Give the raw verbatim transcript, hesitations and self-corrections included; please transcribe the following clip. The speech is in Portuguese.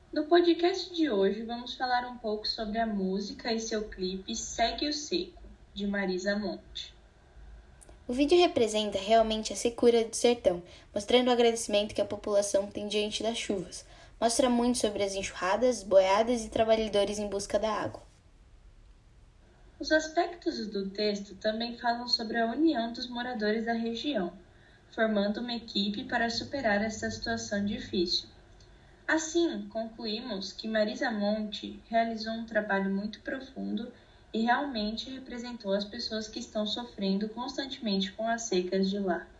No podcast de hoje, vamos falar um pouco sobre a música e seu clipe Segue o Seco, de Marisa Monte. O vídeo representa realmente a secura do sertão, mostrando o agradecimento que a população tem diante das chuvas. Mostra muito sobre as enxurradas, boiadas e trabalhadores em busca da água. Os aspectos do texto também falam sobre a união dos moradores da região, formando uma equipe para superar essa situação difícil. Assim, concluímos que Marisa Monte realizou um trabalho muito profundo e realmente representou as pessoas que estão sofrendo constantemente com as secas de lá.